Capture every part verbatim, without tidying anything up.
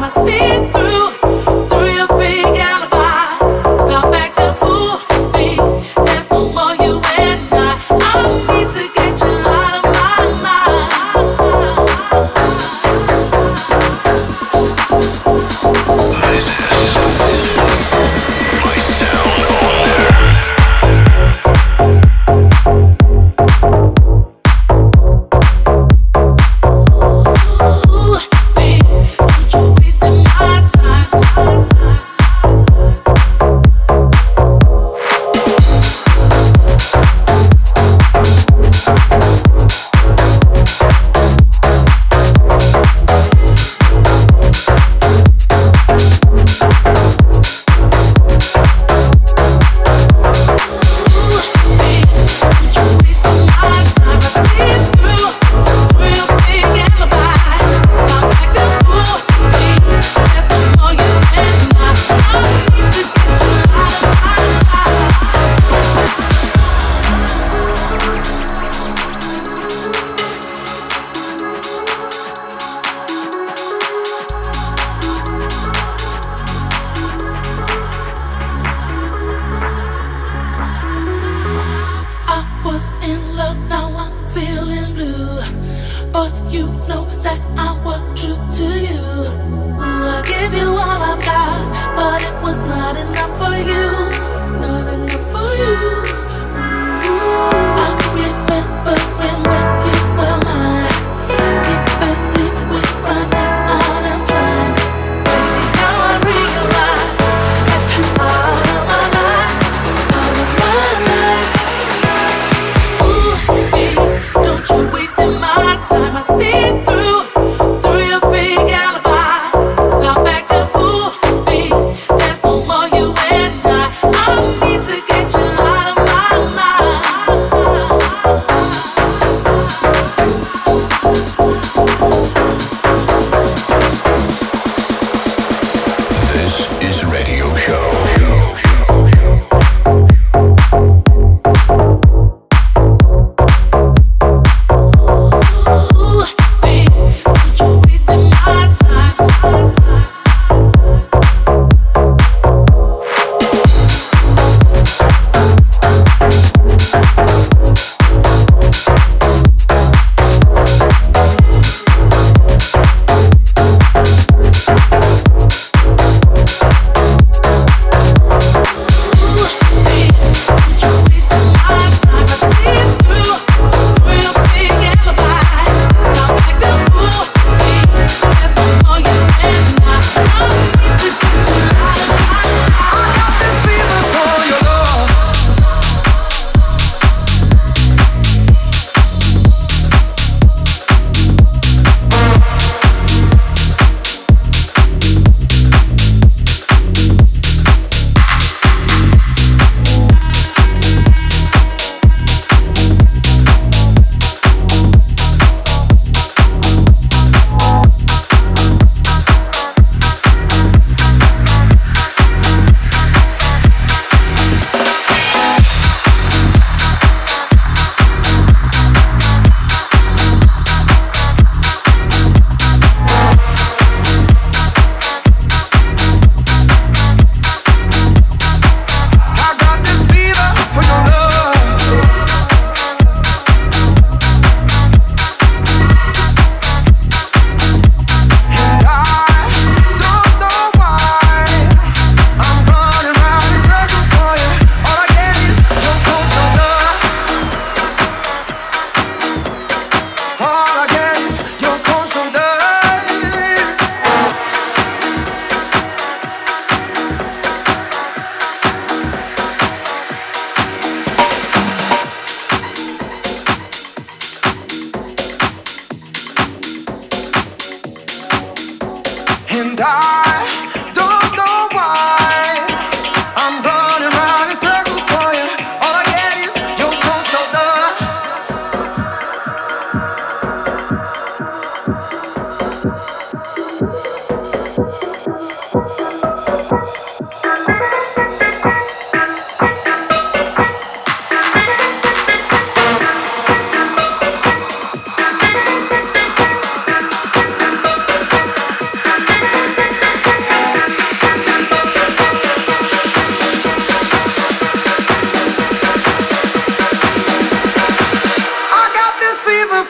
There's no more you and I.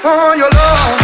for your love.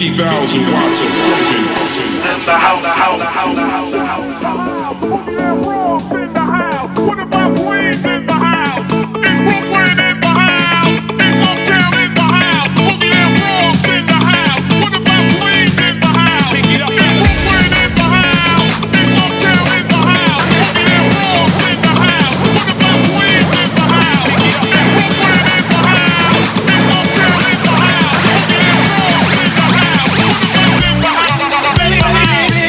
fifty thousand watts of frozen. That's the house, the house, the house, the house, the house, the house. Put that rock in the house. What about Queens in the house? In Brooklyn in the house. In Uptown in the house. Put that rock in the house. What about Queens in the house? Pick it up. In Brooklyn in the house. In Uptown in the house. Put that rock in the house. What about Queens in the house? Pick it up. In Brooklyn in the house. In Uptown in the house. Put that rock in the house. What about in the house?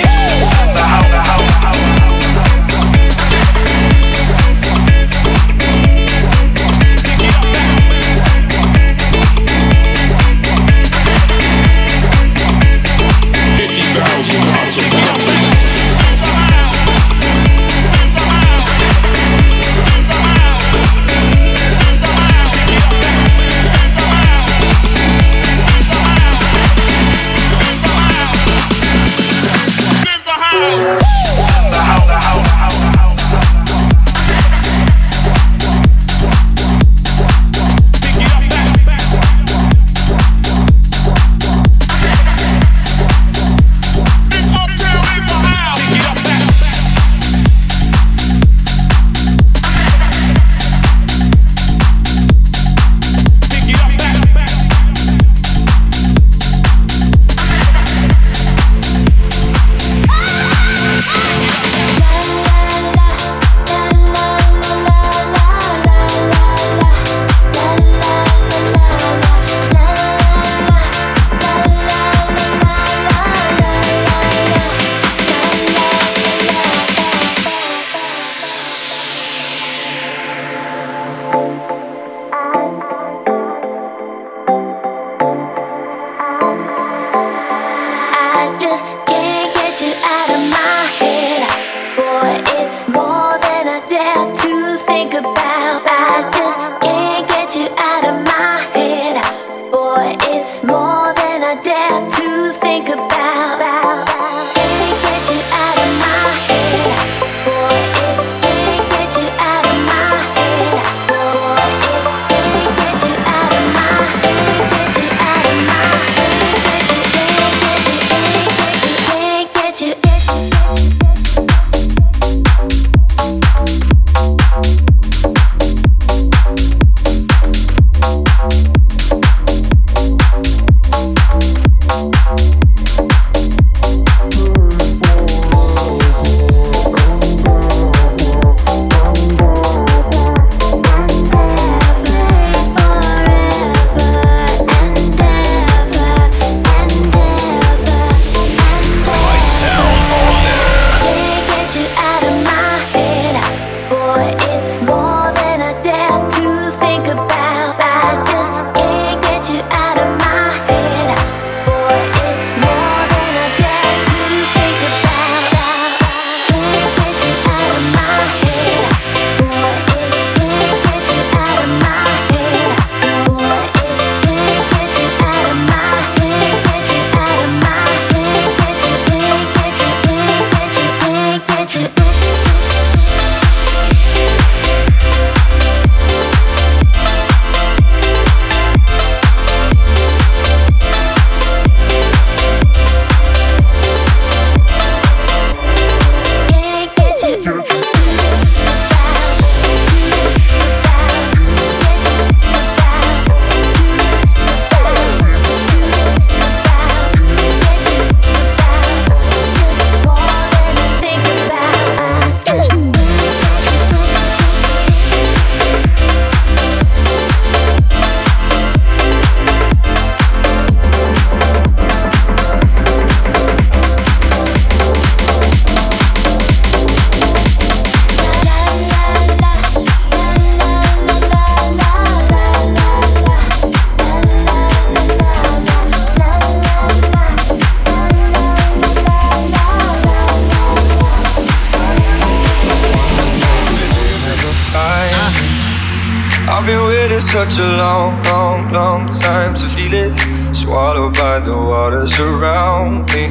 Such a long, long, long time to feel it. Swallowed by the waters around me.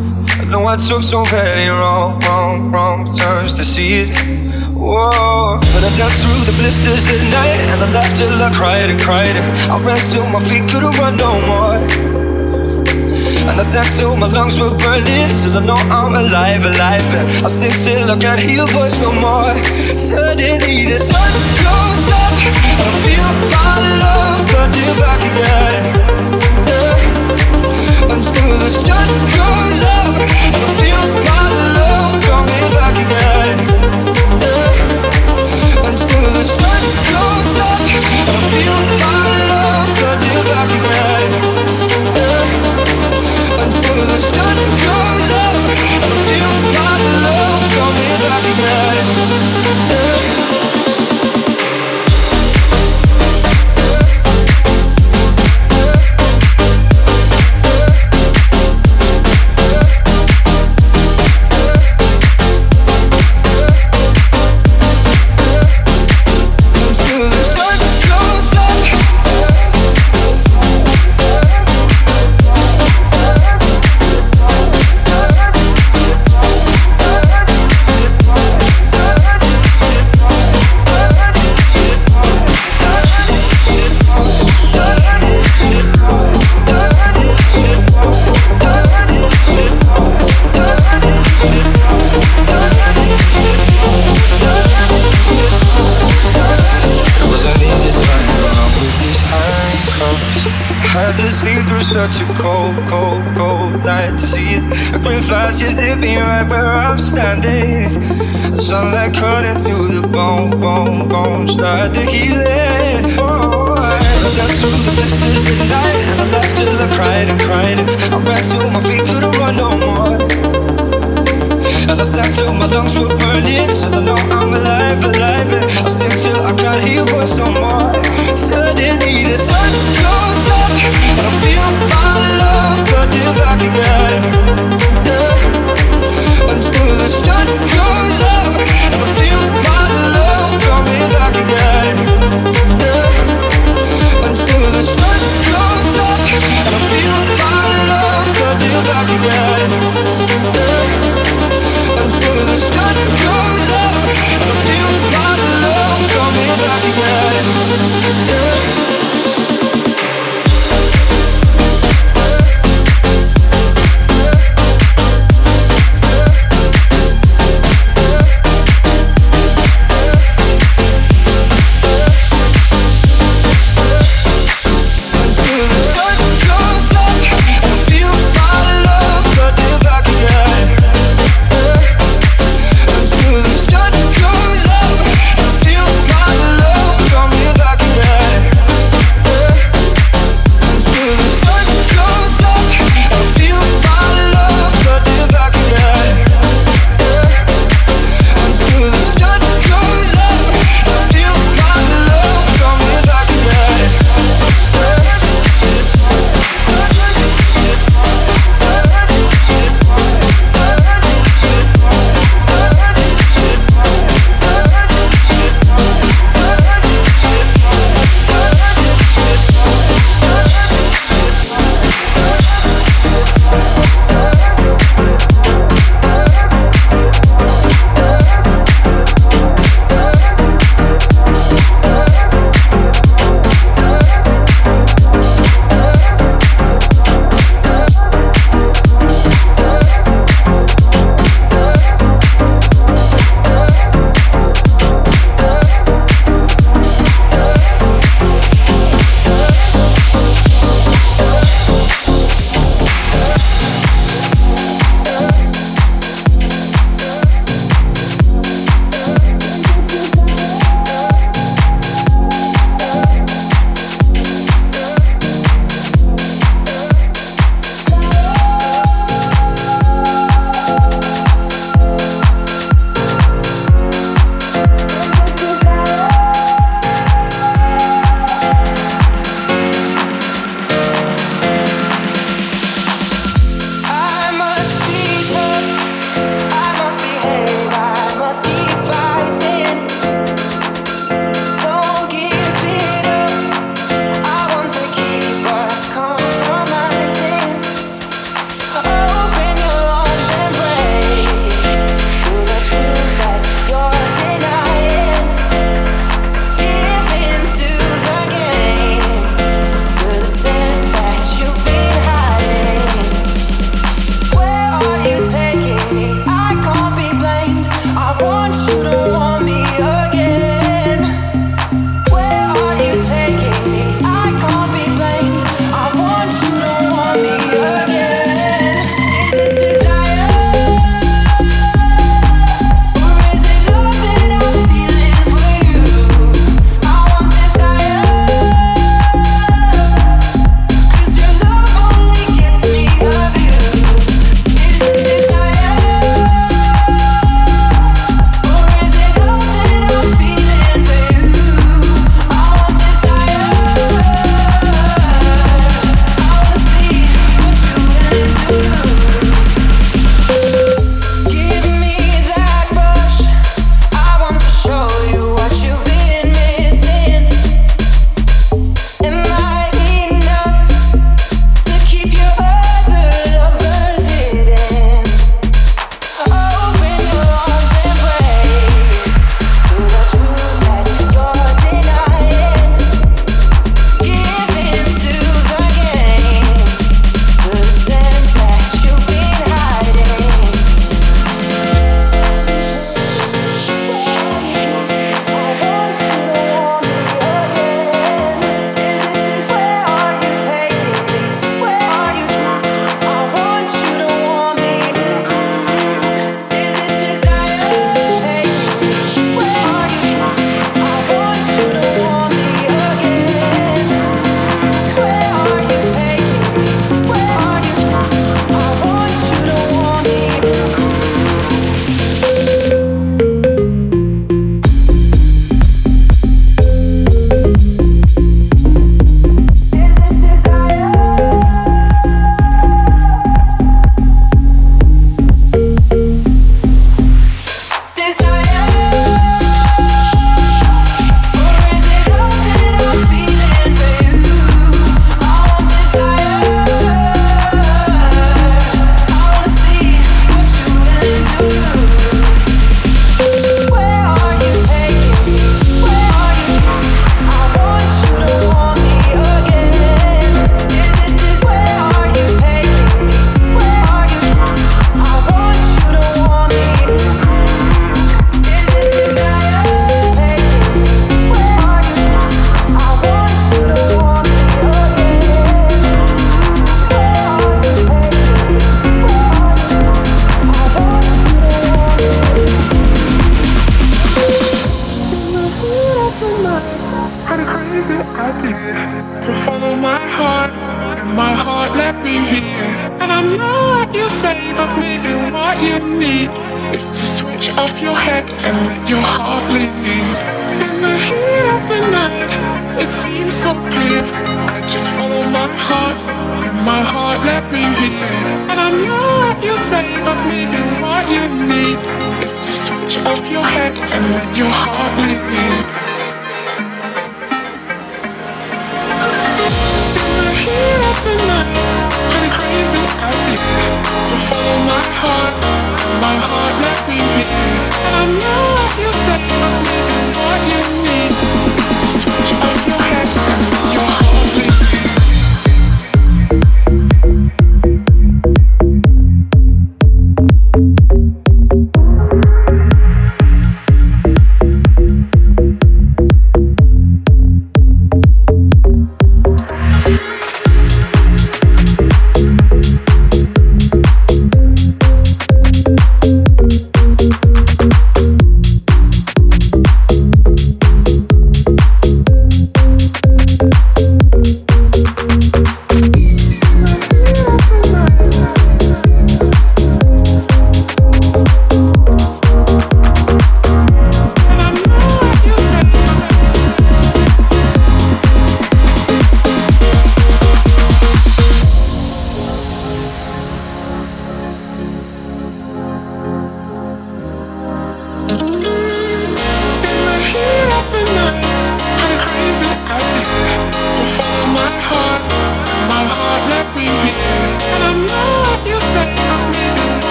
I know I took so many wrong, wrong, wrong turns to see it. Whoa, but I danced through the blisters at night, and I laughed till I cried and cried. I ran till my feet couldn't run no more. And I sang till my lungs were burning, till I know I'm alive, alive. And I sing till I can't hear your voice no more. Suddenly the sun goes up, and I feel my love burning back again. Yeah. Until the sun goes up, and I feel my love coming back again. Yeah. Until the sun goes up, and I feel my love burning back again. Yeah. Until the sun goes up, and I feel my love coming back again. Yeah. Sleep through such a cold, cold, cold night to see it. A green flash is zipping right where I'm standing. The sunlight cut into the bone, bone, bone. Start the healing. Oh, I danced through the blisters at night, and I laughed till I cried and cried. And I ran till my feet couldn't run no more. And I sang till my lungs were burning, till I know I'm alive, alive. And I sing till I can't hear your voice no more. Suddenly the sun goes up, and I feel my love burning back again. Yeah. Until the sun goes up, and I feel my love coming back again. Yeah. Until the sun goes up, and I feel my love burning back again. Yeah. Until the sun goes up, and I feel my love coming back again. Yeah. heat of the night, had a crazy idea to follow my heart, and my heart let me hear. And I know what you say, but maybe what you need is to switch off your head and let your heart lead. In the heat of the night, it seems so clear. I just follow my heart, and my heart let me hear. And I know what you say, but maybe what you need is to switch off your head and let your heart lead. In the heat of the night, had a crazy idea to follow my heart, and my heart let me hear. And I know what you say, but maybe what you need is to switch off your head and let your heart lead.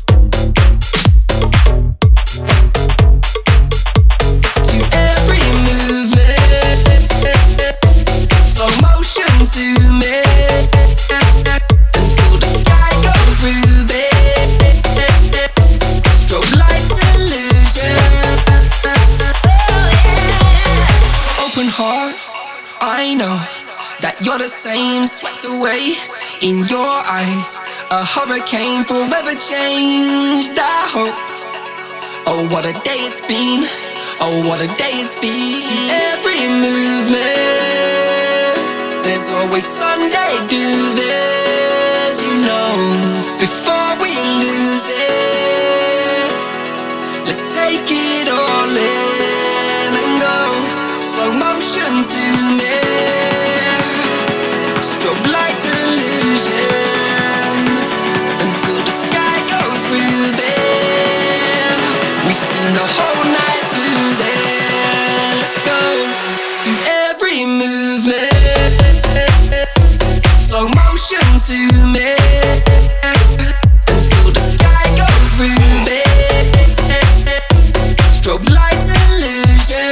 Every move I know that you're the same, swept away in your eyes. A hurricane forever changed, I hope. Oh, what a day it's been. Oh, what a day it's been. Every movement, there's always Sunday do this, you know. Before we lose it, let's take it all in and go slow motion to me. Strobe light illusions until the sky goes ruby. We've seen the whole night through there. Let's go to every movement. Slow motion to me until the sky goes ruby. Strobe light illusion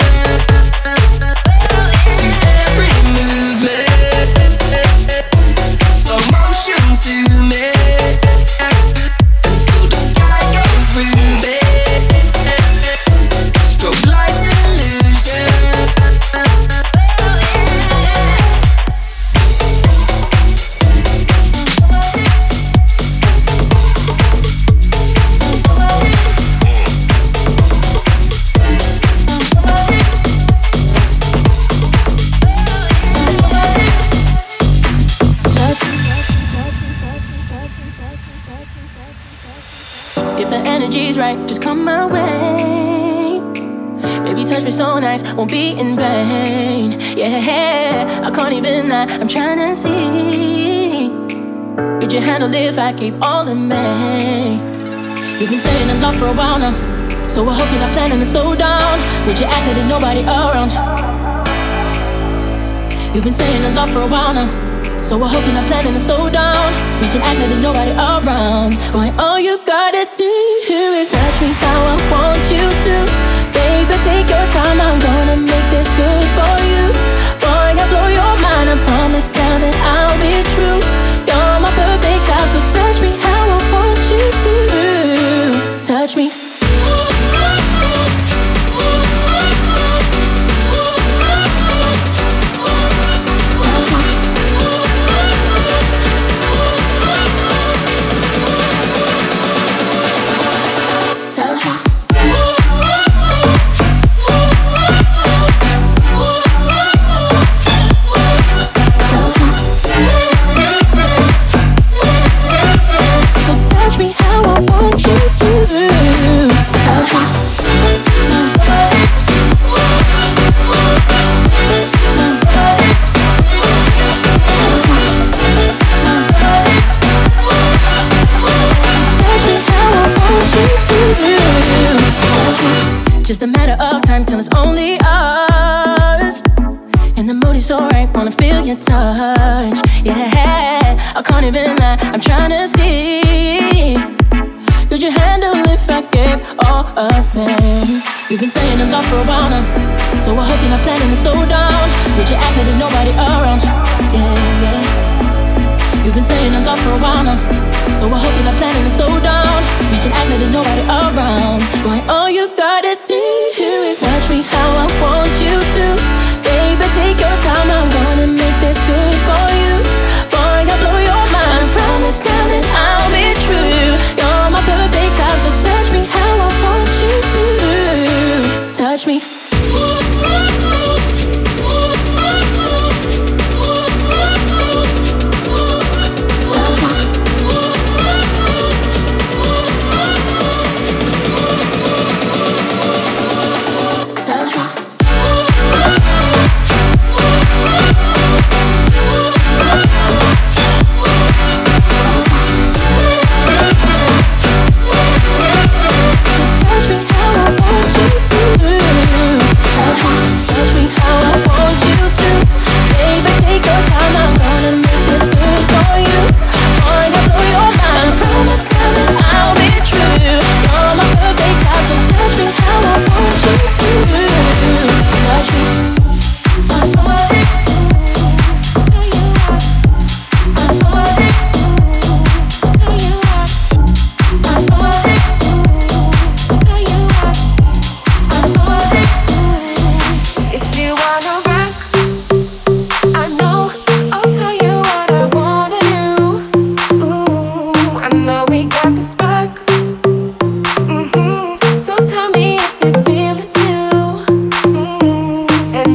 to every movement. Slow motion to me until the sky goes ruby. Strobe light illusion. If the energy's right, just come my way. Baby, touch me so nice, won't be in vain. Yeah, I can't even lie, I'm trying to see. Could you handle it if I gave all in May? You've been saying a lot for a while now, so I hope you're not planning to slow down. Would you act like there's nobody around? You've been saying a lot for a while now, so I hope you're not planning to slow down. We can act like there's nobody around. Boy, all you gotta do is touch me how I want you to. Baby, take your time, I'm gonna make this good for you. Boy, I blow your mind, I promise now that I'll be true. You're my perfect type, so touch me how I want you to. Touch me. Just a matter of time till it's only us. And the mood is so right, wanna feel your touch. Yeah, I can't even lie, I'm trying to see. Could you handle if I gave all of me? You've been saying a lot for a while now, so I hope you're not planning to slow down. Would you act like there's nobody around? Yeah, yeah. You've been saying a lot for a while now, so I hope you're not planning to slow down. We can act like there's nobody around. Boy, all you gotta do is touch me how I want you to. Baby, take your time, I'm gonna make this good for you. Boy, I blow your mind, promise now that I'll be true. You're my perfect type, so touch me how I want you to. Touch me.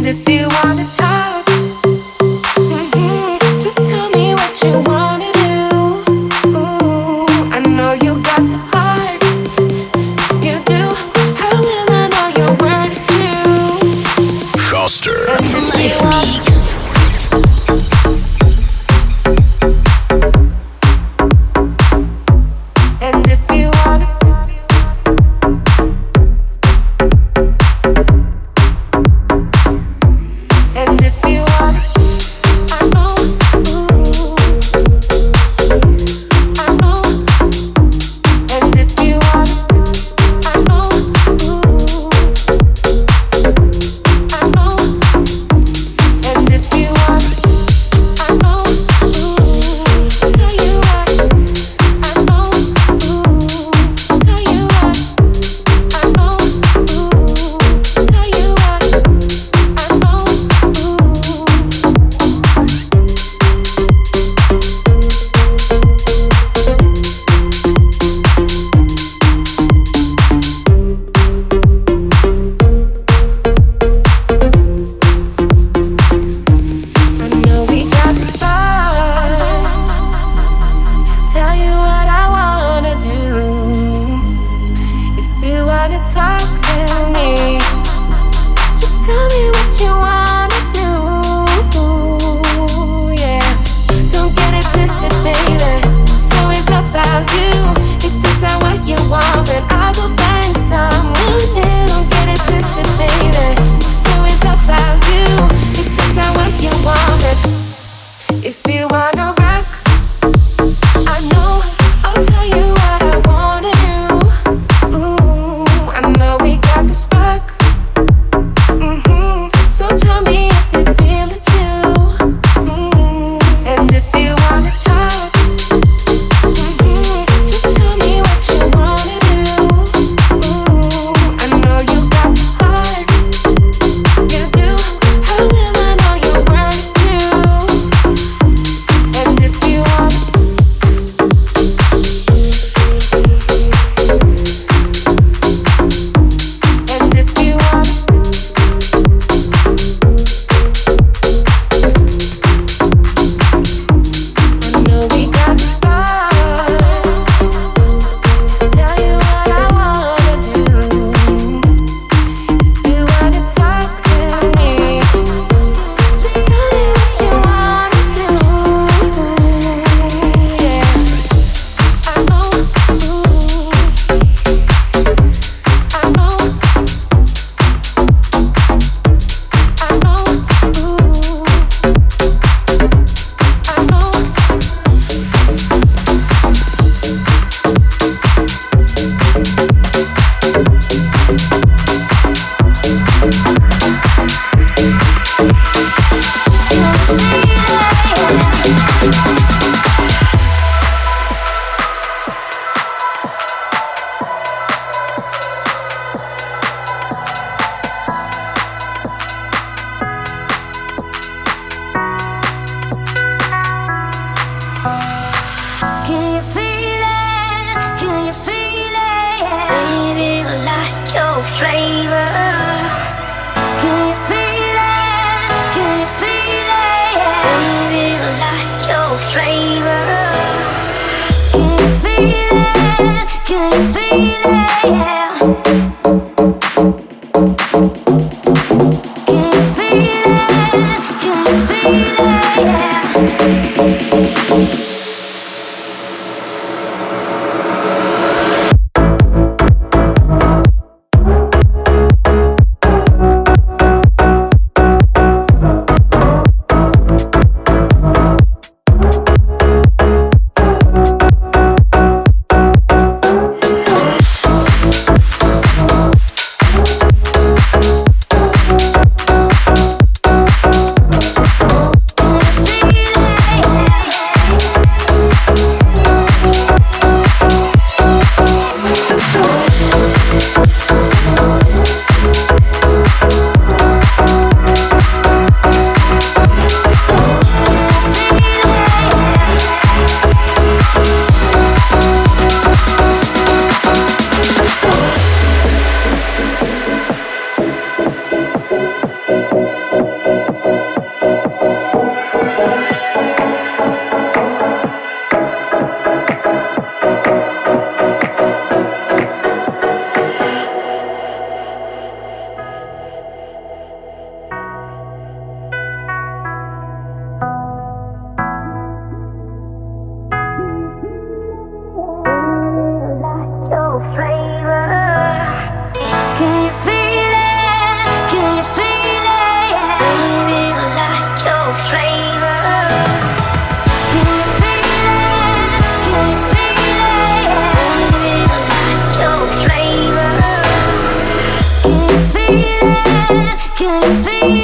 Tell you what, I know.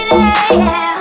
there, yeah.